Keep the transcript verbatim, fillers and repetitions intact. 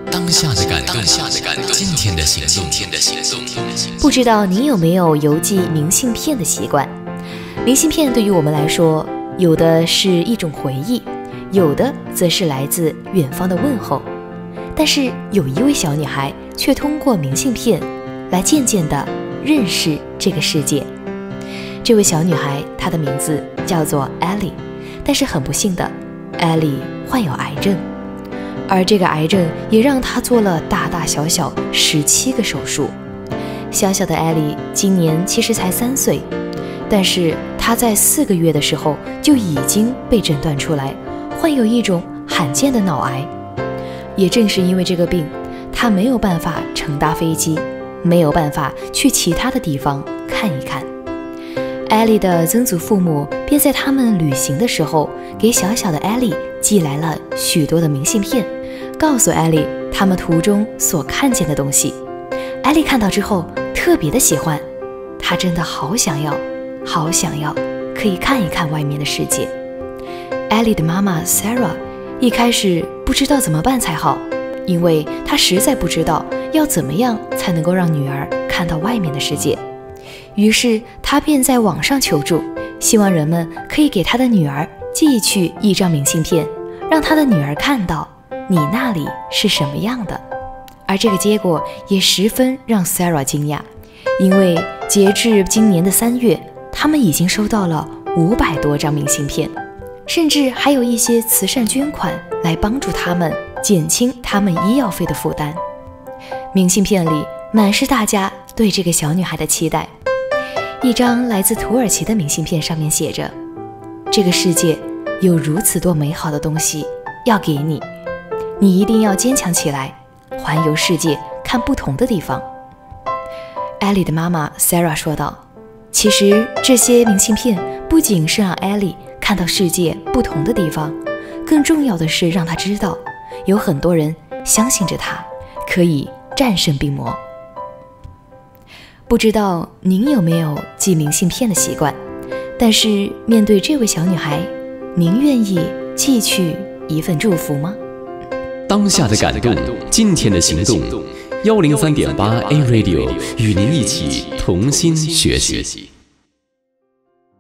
当下的感动，当下的感动，今天的行动，今天的行动。 不知道您有没有邮寄明信片的习惯？明信片对于我们来说，有的是一种回忆，有的则是来自远方的问候。但是有一位小女孩却通过明信片来渐渐地认识这个世界。这位小女孩，她的名字叫做艾莉，但是很不幸的，艾莉患有癌症，而这个癌症也让她做了大大小小十七个手术。小小的艾莉今年其实才三岁，但是她在四个月的时候就已经被诊断出来患有一种罕见的脑癌。也正是因为这个病，她没有办法乘搭飞机，没有办法去其他的地方看一看。艾莉的曾祖父母便在他们旅行的时候，给小小的艾莉寄来了许多的明信片，告诉艾莉他们途中所看见的东西。艾莉看到之后特别的喜欢，她真的好想要，好想要可以看一看外面的世界。艾莉的妈妈 Sarah 一开始不知道怎么办才好，因为她实在不知道要怎么样才能够让女儿看到外面的世界。于是她便在网上求助，希望人们可以给她的女儿寄去一张明信片，让她的女儿看到你那里是什么样的。而这个结果也十分让 Sarah 惊讶，因为截至今年的三月，他们已经收到了五百多张明信片，甚至还有一些慈善捐款来帮助他们减轻他们医药费的负担。明信片里满是大家对这个小女孩的期待。一张来自土耳其的明信片上面写着：这个世界有如此多美好的东西要给你，你一定要坚强起来，环游世界，看不同的地方。艾莉的妈妈 Sarah 说道，其实这些明信片不仅是让艾莉看到世界不同的地方，更重要的是让她知道，有很多人相信着她可以战胜病魔。不知道您有没有寄明信片的习惯，但是面对这位小女孩，您愿意寄去一份祝福吗？ 当下的感动，今天的行动。幺零三点八 A Radio 与您一起同心学习。